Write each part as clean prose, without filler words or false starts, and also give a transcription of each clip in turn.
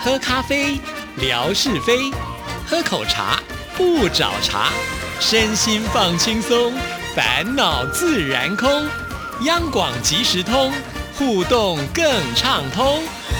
喝咖啡，聊是非；喝口茶，不找茬。身心放轻松，烦恼自然空。央广即时通，互动更畅通。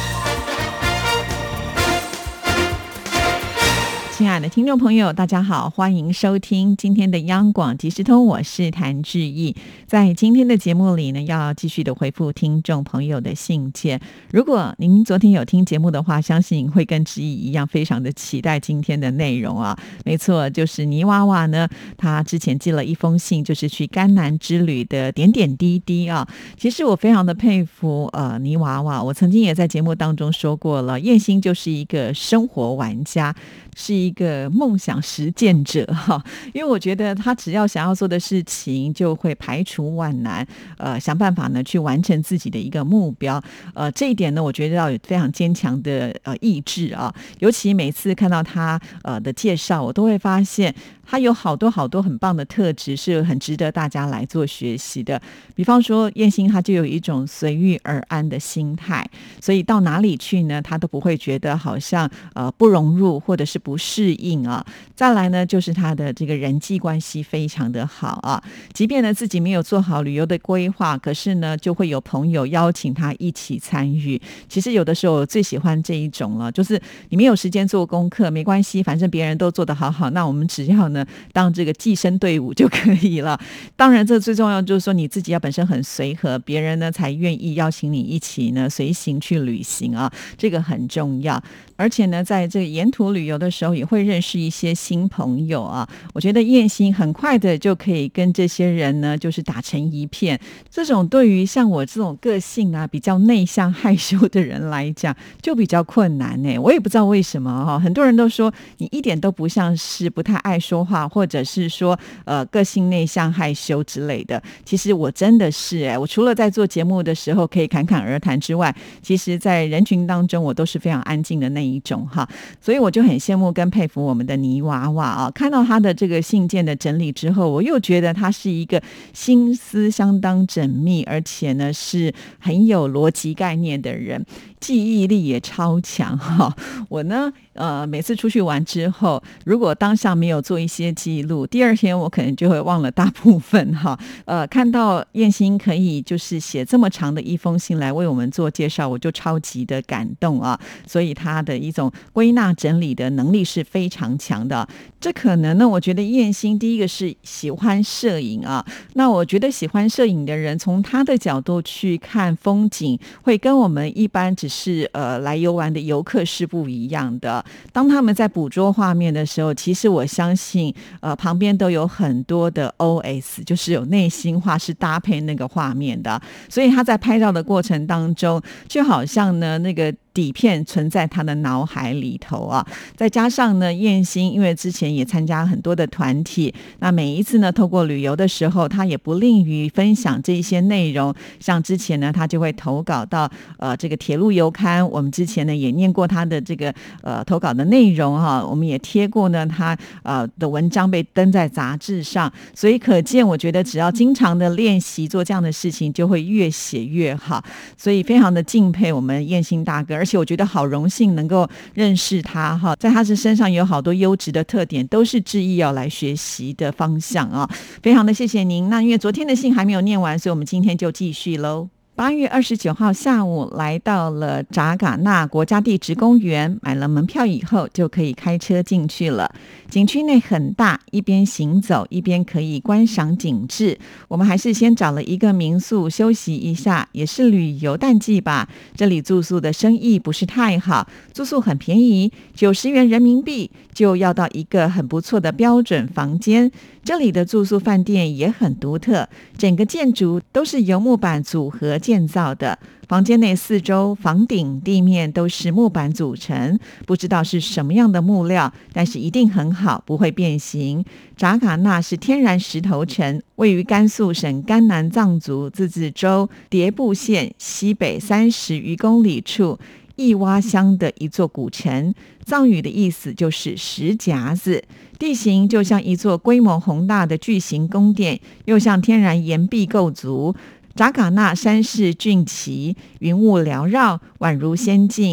亲爱的听众朋友，大家好，欢迎收听今天的央广即时通，我是谭志毅。在今天的节目里呢，要继续的回复听众朋友的信件。如果您昨天有听节目的话，相信会跟志毅一样非常的期待今天的内容啊。没错，就是泥娃娃呢，他之前寄了一封信，就是去甘南之旅的点点滴滴啊。其实我非常的佩服泥娃娃，我曾经也在节目当中说过了，燕心就是一个生活玩家，是一个梦想实践者哈，因为我觉得他只要想要做的事情，就会排除万难，想办法呢去完成自己的一个目标。这一点呢，我觉得要有非常坚强的意志啊。尤其每次看到他的介绍，我都会发现他有好多好多很棒的特质，是很值得大家来做学习的。比方说燕心，他就有一种随遇而安的心态，所以到哪里去呢，他都不会觉得好像不融入或者是不适应啊。再来呢，就是他的这个人际关系非常的好啊，即便呢自己没有做好旅游的规划，可是呢就会有朋友邀请他一起参与。其实有的时候我最喜欢这一种了，就是你没有时间做功课没关系，反正别人都做得好好，那我们只要呢当这个寄生队伍就可以了。当然这最重要就是说你自己要本身很随和，别人呢才愿意邀请你一起呢随行去旅行啊，这个很重要。而且呢在这个沿途旅游的时候也会认识一些新朋友啊，我觉得燕心很快的就可以跟这些人呢就是打成一片。这种对于像我这种个性啊比较内向害羞的人来讲就比较困难呢。我也不知道为什么很多人都说你一点都不像是不太爱说话，或者是说个性内向害羞之类的。其实我真的是我除了在做节目的时候可以侃侃而谈之外，其实在人群当中我都是非常安静的那一种哈。所以我就很羡慕跟佩服我们的泥娃娃啊。看到他的这个信件的整理之后，我又觉得他是一个心思相当缜密，而且呢是很有逻辑概念的人，记忆力也超强哈。我呢每次出去玩之后，如果当下没有做一些记录，第二天我可能就会忘了大部分哈。看到燕心可以就是写这么长的一封信来为我们做介绍，我就超级的感动啊。所以他的一种归纳整理的能力是非常强的。这可能呢，我觉得燕心第一个是喜欢摄影啊。那我觉得喜欢摄影的人，从他的角度去看风景，会跟我们一般只是来游玩的游客是不一样的。当他们在捕捉画面的时候，其实我相信旁边都有很多的 OS， 就是有内心话是搭配那个画面的。所以他在拍照的过程当中，就好像呢那个底片存在他的脑海里头啊。再加上呢燕心因为之前也参加很多的团体，那每一次呢透过旅游的时候，他也不吝于分享这一些内容。像之前呢他就会投稿到这个铁路游刊，我们之前呢也念过他的这个投稿的内容哈，我们也贴过呢他的文章被登在杂志上。所以可见我觉得只要经常的练习做这样的事情，就会越写越好。所以非常的敬佩我们燕心大哥，而且我觉得好荣幸能够认识他哈，在他的身上有好多优质的特点，都是志毅要来学习的方向啊。非常的谢谢您。那因为昨天的信还没有念完，所以我们今天就继续喽。8月29号下午来到了扎尕那国家地质公园，买了门票以后就可以开车进去了。景区内很大，一边行走一边可以观赏景致。我们还是先找了一个民宿休息一下，也是旅游淡季吧。这里住宿的生意不是太好，住宿很便宜，90元人民币就要到一个很不错的标准房间。这里的住宿饭店也很独特，整个建筑都是由木板组合建造的，房间内四周房顶地面都是木板组成，不知道是什么样的木料，但是一定很好，不会变形。扎尕那是天然石头城，位于甘肃省甘南藏族自治州迭部县西北30余公里处义洼乡的一座古城，藏语的意思就是石夹子。地形就像一座规模宏大的巨型宫殿，又像天然岩壁构筑。扎尕那山势峻奇，云雾缭绕，宛如仙境。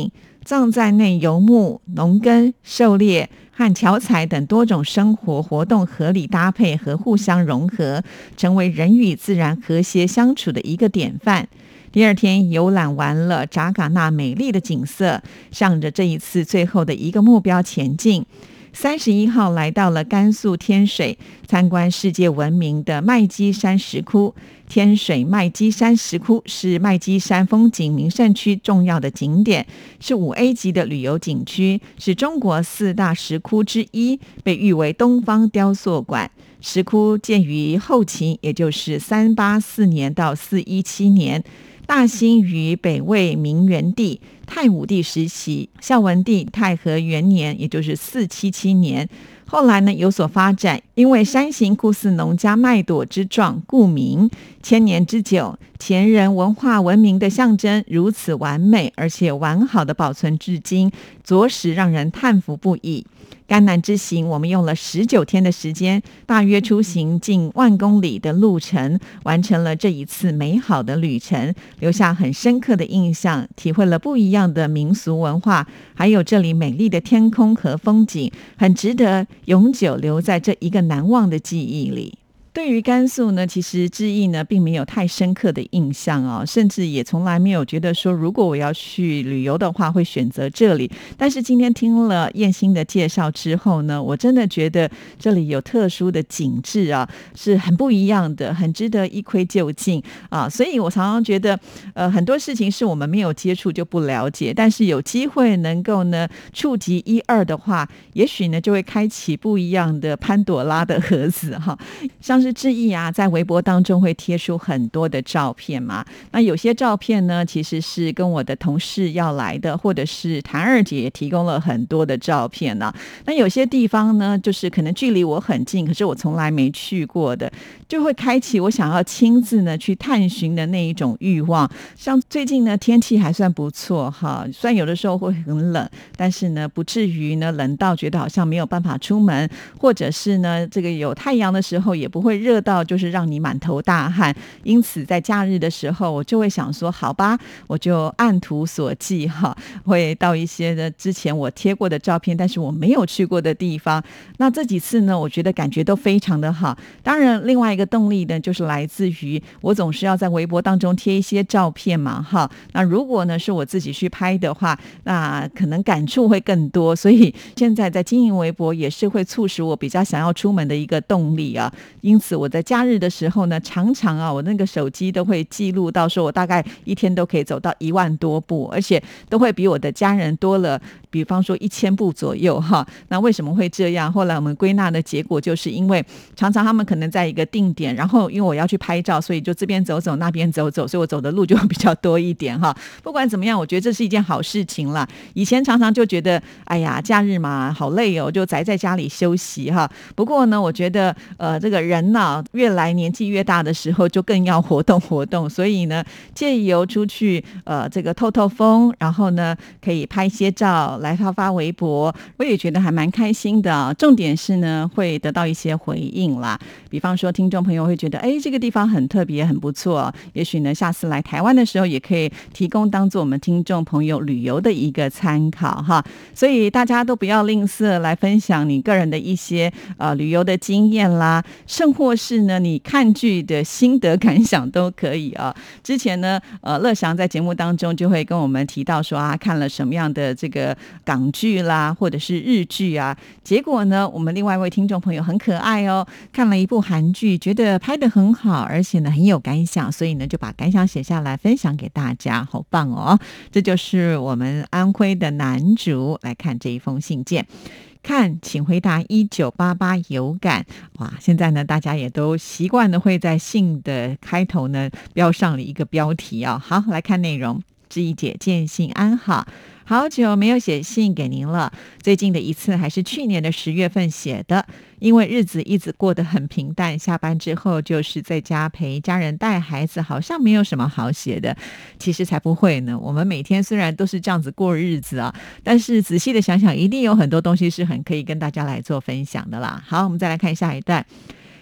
藏在内游牧、农耕、狩猎和樵采等多种生活活动合理搭配和互相融合，成为人与自然和谐相处的一个典范。第二天游览完了扎尕那美丽的景色，向着这一次最后的一个目标前进。31号来到了甘肃天水，参观世界闻名的麦积山石窟。天水麦积山石窟是麦积山风景名胜区重要的景点，是5A 级的旅游景区，是中国4大石窟之一，被誉为东方雕塑馆。石窟建于后秦，也就是384年到417年，大兴于北魏明元帝、太武帝时期，孝文帝太和元年，也就是477年。后来呢有所发展，因为山形酷似农家麦垛之状，故名。千年之久，前人文化文明的象征如此完美，而且完好的保存至今，着实让人叹服不已。甘南之行，我们用了19天的时间，大约出行近10000公里的路程，完成了这一次美好的旅程，留下很深刻的印象，体会了不一样的民俗文化，还有这里美丽的天空和风景，很值得永久留在这一个难忘的记忆里。对于甘肃呢，其实志毅呢并没有太深刻的印象哦，甚至也从来没有觉得说如果我要去旅游的话会选择这里。但是今天听了燕欣的介绍之后呢，我真的觉得这里有特殊的景致啊，是很不一样的，很值得一窥究竟啊。所以我常常觉得很多事情是我们没有接触就不了解，但是有机会能够呢触及1、2的话，也许呢就会开启不一样的潘朵拉的盒子哈。像是志毅啊，在微博当中会贴出很多的照片嘛。那有些照片呢，其实是跟我的同事要来的，或者是谭二姐也提供了很多的照片呢。那有些地方呢，就是可能距离我很近，可是我从来没去过的，就会开启我想要亲自呢去探寻的那一种欲望。像最近呢，天气还算不错哈，虽然有的时候会很冷，但是呢，不至于呢冷到觉得好像没有办法出门，或者是呢这个有太阳的时候也不会热到就是让你满头大汗。因此在假日的时候我就会想说好吧，我就按图索骥哈，会到一些的之前我贴过的照片但是我没有去过的地方。那这几次呢，我觉得感觉都非常的好。当然另外一个动力呢，就是来自于我总是要在微博当中贴一些照片嘛哈。那如果呢是我自己去拍的话，那可能感触会更多，所以现在在经营微博也是会促使我比较想要出门的一个动力啊。因此我在假日的时候呢，常常啊，我那个手机都会记录到说我大概一天都可以走到1万多步，而且都会比我的家人多了比方说1000步左右哈。那为什么会这样？后来我们归纳的结果就是因为常常他们可能在一个定点，然后因为我要去拍照，所以就这边走走那边走走，所以我走的路就比较多一点哈。不管怎么样，我觉得这是一件好事情啦。以前常常就觉得哎呀假日嘛好累哦，就宅在家里休息哈。不过呢，我觉得这个人呢越来年纪越大的时候就更要活动活动，所以呢借由出去这个透透风，然后呢可以拍些照来发微博，我也觉得还蛮开心的。重点是呢会得到一些回应啦，比方说听众朋友会觉得哎这个地方很特别很不错，也许呢下次来台湾的时候也可以提供当做我们听众朋友旅游的一个参考哈。所以大家都不要吝啬来分享你个人的一些旅游的经验啦，甚或是呢你看剧的心得感想都可以啊。之前呢乐祥在节目当中就会跟我们提到说啊看了什么样的这个港剧啦或者是日剧啊，结果呢我们另外一位听众朋友很可爱哦，看了一部韩剧，觉得拍得很好，而且呢很有感想，所以呢就把感想写下来分享给大家，好棒哦。这就是我们安徽的男主，来看这一封信件。看请回答1988有感。哇，现在呢大家也都习惯的会在信的开头呢标上了一个标题啊。好，来看内容。志毅姐见信安好，好久没有写信给您了，最近的一次还是去年的10月份写的，因为日子一直过得很平淡，下班之后就是在家陪家人带孩子，好像没有什么好写的。其实才不会呢，我们每天虽然都是这样子过日子啊，但是仔细的想想一定有很多东西是很可以跟大家来做分享的啦。好，我们再来看下一段。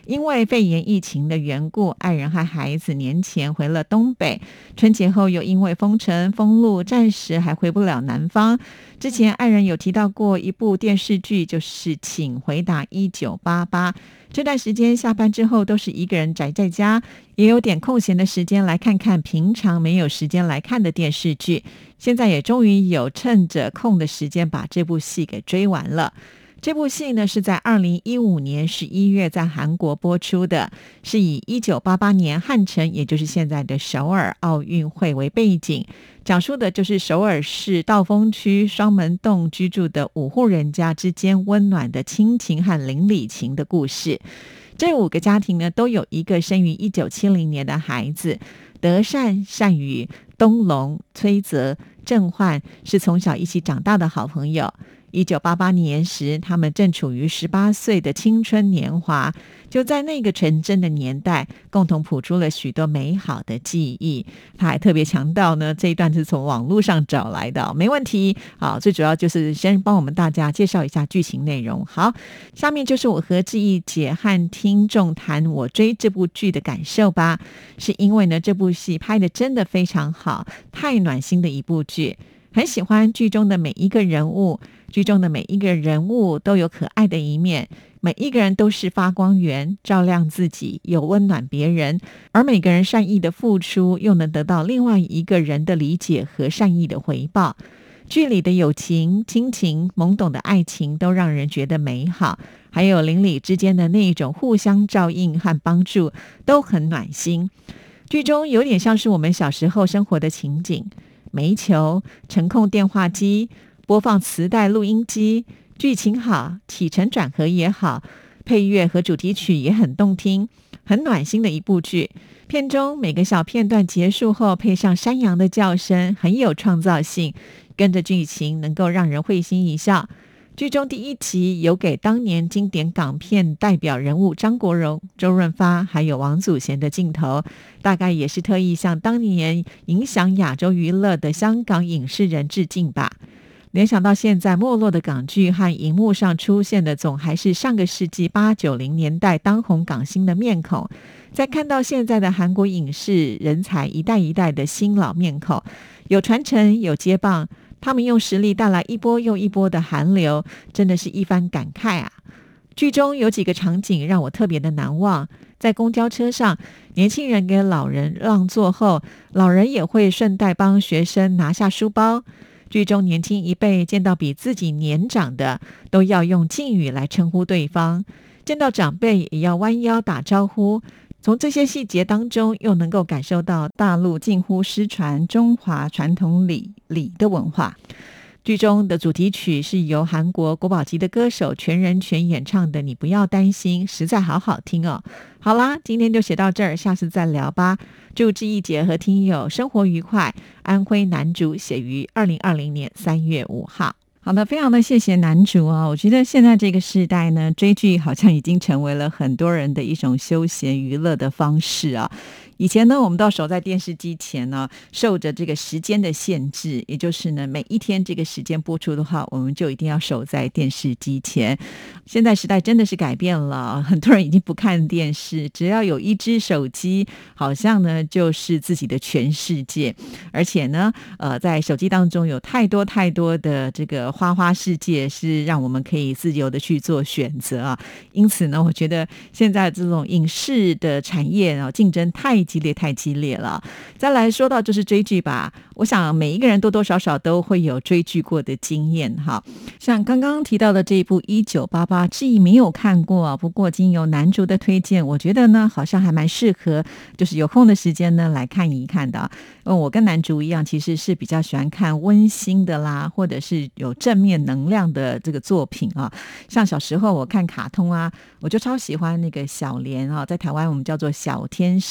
因为肺炎疫情的缘故，爱人和孩子年前回了东北，春节后又因为封城封路，暂时还回不了南方。之前爱人有提到过一部电视剧，就是请回答1988。这段时间下班之后都是一个人宅在家，也有点空闲的时间来看看平常没有时间来看的电视剧。现在也终于有趁着空的时间把这部戏给追完了。这部戏呢是在2015年11月在韩国播出的，是以1988年汉城，也就是现在的首尔奥运会为背景，讲述的就是首尔市道峰区双门洞居住的5户人家之间温暖的亲情和邻里情的故事。这5个家庭呢都有一个生于1970年的孩子，德善、善宇、东龙、崔泽、郑焕是从小一起长大的好朋友。1988年时，他们正处于18岁的青春年华，就在那个纯真的年代，共同谱出了许多美好的记忆。他还特别强调呢，这一段是从网络上找来的，没问题。好，最主要就是先帮我们大家介绍一下剧情内容。好，下面就是我和志毅姐和听众谈我追这部剧的感受吧。是因为呢，这部戏拍得真的非常好，太暖心的一部剧。很喜欢剧中的每一个人物，剧中的每一个人物都有可爱的一面，每一个人都是发光源，照亮自己，又温暖别人，而每个人善意的付出又能得到另外一个人的理解和善意的回报。剧里的友情、亲情、懵懂的爱情都让人觉得美好，还有邻里之间的那一种互相照应和帮助都很暖心。剧中有点像是我们小时候生活的情景，煤球、程控电话机、播放磁带录音机，剧情好，起承转合也好，配乐和主题曲也很动听，很暖心的一部剧。片中每个小片段结束后配上山羊的叫声，很有创造性，跟着剧情能够让人会心一笑。剧中第1集有给当年经典港片代表人物张国荣、周润发还有王祖贤的镜头，大概也是特意向当年影响亚洲娱乐的香港影视人致敬吧。联想到现在没落的港剧和荧幕上出现的总还是上个世纪80、90年代当红港星的面孔，再看到现在的韩国影视人才一代一代的新老面孔，有传承有接棒，他们用实力带来一波又一波的韩流，真的是一番感慨啊。剧中有几个场景让我特别的难忘，在公交车上，年轻人给老人让座后，老人也会顺带帮学生拿下书包。剧中年轻一辈见到比自己年长的，都要用敬语来称呼对方，见到长辈也要弯腰打招呼。从这些细节当中，又能够感受到大陆近乎失传中华传统礼的文化。剧中的主题曲是由韩国国宝级的歌手全人全演唱的《你不要担心》，实在好好听哦。好啦，今天就写到这儿，下次再聊吧。祝志毅姐和听友生活愉快。安徽南竹写于2020年3月5号。好的，非常的谢谢男主啊！我觉得现在这个时代呢，追剧好像已经成为了很多人的一种休闲娱乐的方式啊。以前呢，我们都守在电视机前呢，受着这个时间的限制，也就是呢，每一天这个时间播出的话，我们就一定要守在电视机前。现在时代真的是改变了，很多人已经不看电视，只要有一只手机，好像呢就是自己的全世界。而且呢，在手机当中有太多的这个花花世界，是让我们可以自由的去做选择啊。因此呢，我觉得现在这种影视的产业啊，竞争太激烈了。再来说到就是追剧吧，我想每一个人多多少少都会有追剧过的经验哈。像刚刚提到的这一部1988，志毅没有看过啊，不过经由男主的推荐，我觉得呢好像还蛮适合，就是有空的时间呢来看一看的。我跟男主一样，其实是比较喜欢看温馨的啦，或者是有正面能量的这个作品啊。像小时候我看卡通啊，我就超喜欢那个小莲啊，在台湾我们叫做小天使。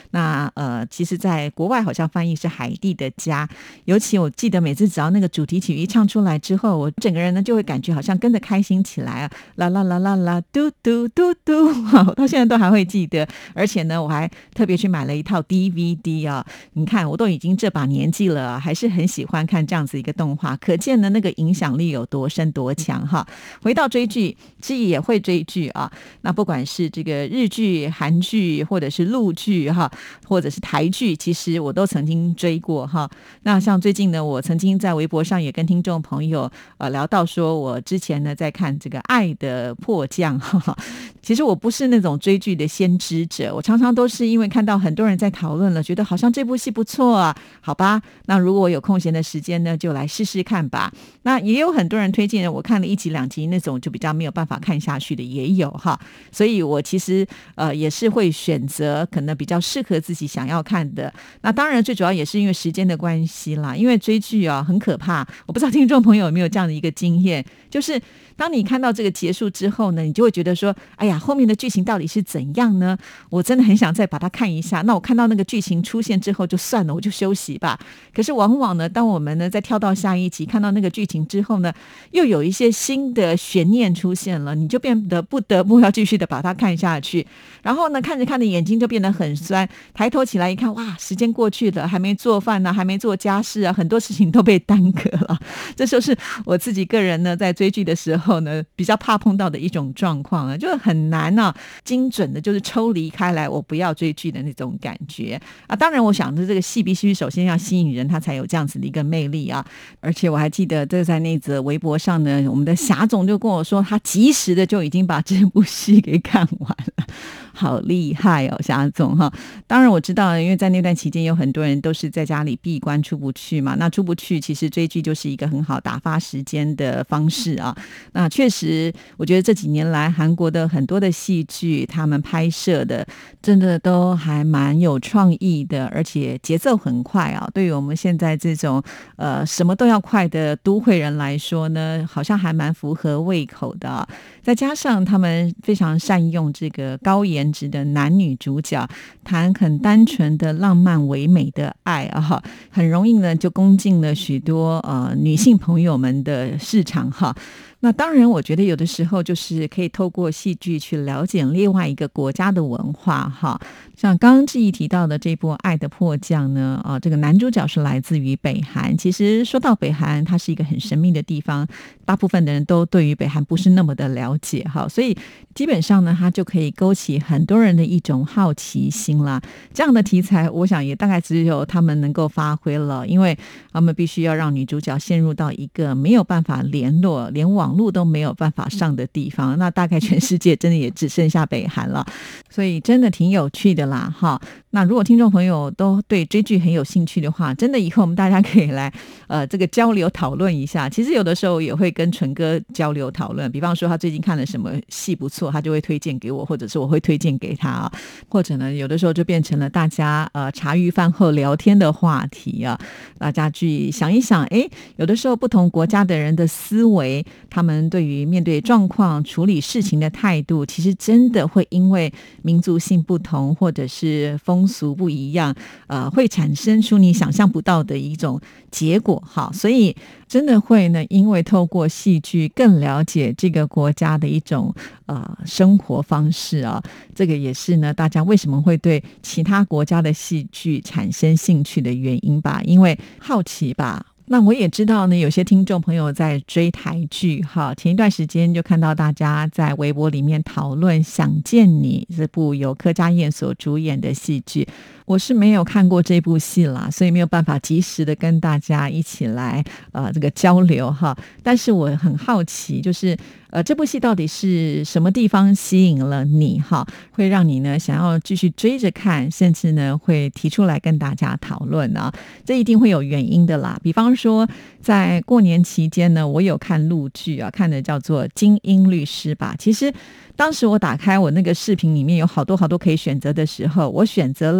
那其实在国外好像翻译是海蒂的家，尤其我记得每次只要那个主题曲一唱出来之后，我整个人呢就会感觉好像跟着开心起来啊，啦啦啦啦啦，嘟嘟嘟嘟，我到现在都还会记得。而且呢我还特别去买了一套 DVD 啊，你看我都已经这把年纪了，还是很喜欢看这样子一个动画，可见呢那个影响力有多深多强哈。回到追剧，其实也会追剧啊，那不管是这个日剧、韩剧，或者是陆剧哈，或者是台剧，其实我都曾经追过哈。那像最近呢，我曾经在微博上也跟听众朋友聊到说，我之前呢在看这个《爱的迫降》哈。其实我不是那种追剧的先知者，我常常都是因为看到很多人在讨论了，觉得好像这部戏不错啊，好吧，那如果我有空闲的时间呢，就来试试看吧。那也有很多人推荐我看了1集2集那种就比较没有办法看下去的也有哈，所以我其实也是会选择可能比较适合自己想要看的。那当然最主要也是因为时间的关系啦，因为追剧啊很可怕，我不知道听众朋友有没有这样的一个经验，就是当你看到这个结束之后呢，你就会觉得说，哎呀，后面的剧情到底是怎样呢？我真的很想再把它看一下。那我看到那个剧情出现之后就算了，我就休息吧。可是往往呢，当我们呢再跳到下一集，看到那个剧情之后呢，又有一些新的悬念出现了，你就变得不得不要继续的把它看下去。然后呢，看着看着眼睛就变得很酸，抬头起来一看，哇，时间过去了，还没做饭呢，还没做家事啊，很多事情都被耽搁了。这就是我自己个人呢在追剧的时候呢比较怕碰到的一种状况啊，就是很难啊精准的就是抽离开来我不要追剧的那种感觉啊。当然我想着这个戏必须首先要吸引人，它才有这样子的一个魅力啊。而且我还记得这在那则微博上呢，我们的霞总就跟我说他及时的就已经把这部戏给看完了，好厉害哦，霞总哈。当然我知道，因为在那段期间有很多人都是在家里闭关出不去嘛，那出不去其实追剧就是一个很好打发时间的方式啊。那确实我觉得这几年来韩国的很多的戏剧他们拍摄的真的都还蛮有创意的，而且节奏很快啊。对于我们现在这种什么都要快的都会人来说呢，好像还蛮符合胃口的啊。再加上他们非常善用这个高颜值的男女主角，谈很单纯的浪漫唯美的爱啊，很容易呢就攻进了许多女性朋友们的市场哈。那当然我觉得有的时候就是可以透过戏剧去了解另外一个国家的文化哈。像刚刚志毅提到的这部《爱的迫降》呢，这个男主角是来自于北韩。其实说到北韩，它是一个很神秘的地方，大部分的人都对于北韩不是那么的了解哈，所以基本上呢，它就可以勾起很多人的一种好奇心啦。这样的题材，我想也大概只有他们能够发挥了，因为他们必须要让女主角陷入到一个没有办法联络，连网络都没有办法上的地方，那大概全世界真的也只剩下北韩了，所以真的挺有趣的啦哈。那如果听众朋友都对追剧很有兴趣的话，真的以后我们大家可以来这个交流讨论一下。其实有的时候也会跟纯哥交流讨论，比方说他最近看了什么戏不错，他就会推荐给我，或者是我会推荐给他啊。或者呢有的时候就变成了大家茶余饭后聊天的话题啊，大家去想一想，有的时候不同国家的人的思维，他们对于面对状况处理事情的态度，其实真的会因为民族性不同或者是风俗不一样，会产生出你想象不到的一种结果哈。所以真的会呢，因为透过戏剧更了解这个国家的一种生活方式啊，这个也是呢大家为什么会对其他国家的戏剧产生兴趣的原因吧，因为好奇吧。那我也知道呢，有些听众朋友在追台剧哈，前一段时间就看到大家在微博里面讨论《想见你》这部由柯佳嬿所主演的戏剧。我是没有看过这部戏啦，所以没有办法及时的跟大家一起来这个交流哈。但是我很好奇，就是这部戏到底是什么地方吸引了你哈，会让你呢想要继续追着看，甚至呢会提出来跟大家讨论啊，这一定会有原因的啦。比方说在过年期间呢，我有看陆剧啊，看的叫做《精英律师》吧。其实当时我打开我那个视频里面有好多可以选择的时候，我选择了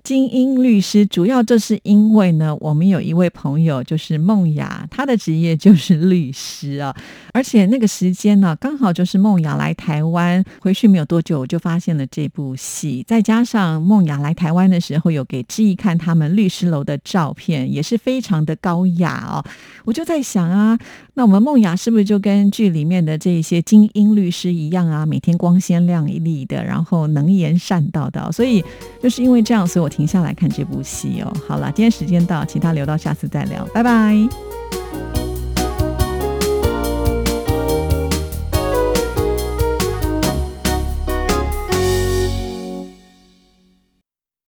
精英律师，主要就是因为呢，我们有一位朋友就是梦雅，她的职业就是律师啊，而且那个时间呢，刚好就是梦雅来台湾回去没有多久，我就发现了这部戏，再加上梦雅来台湾的时候有给志毅看他们律师楼的照片，也是非常的高雅哦。我就在想啊，那我们梦雅是不是就跟剧里面的这些精英律师一样啊，每天光鲜亮丽的，然后能言善道的，所以就是因为这样，所以我停下来看这部戏哦。好了，今天时间到，其他留到下次再聊，拜拜。